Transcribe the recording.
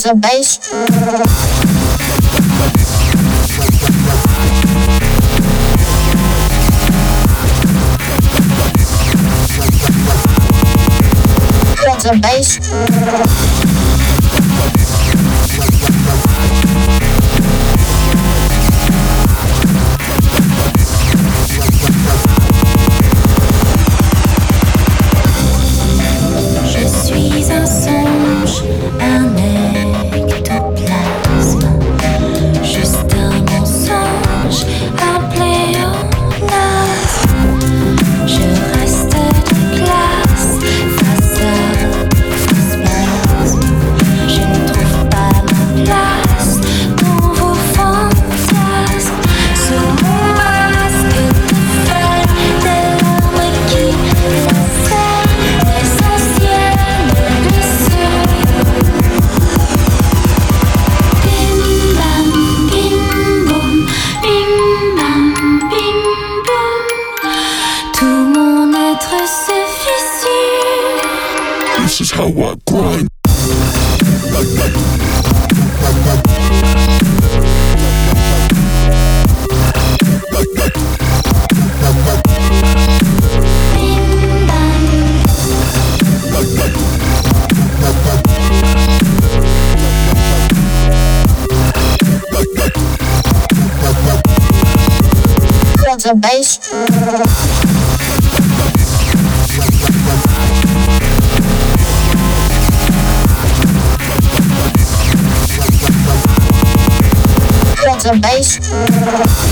the bass. The bass. Je suis un songe, un ectoplasme, juste un mensonge, un pléonasme. Je reste de glace face à je ne trouve pas ma place dans vos fantasmes. Ce masque de feuilles, des larmes qui lacèrent les anciennes blessures. Bim bam, bim boum, bim bam, bim boum. Tout mon être se fissure. This is how I grind. The bass. The bass.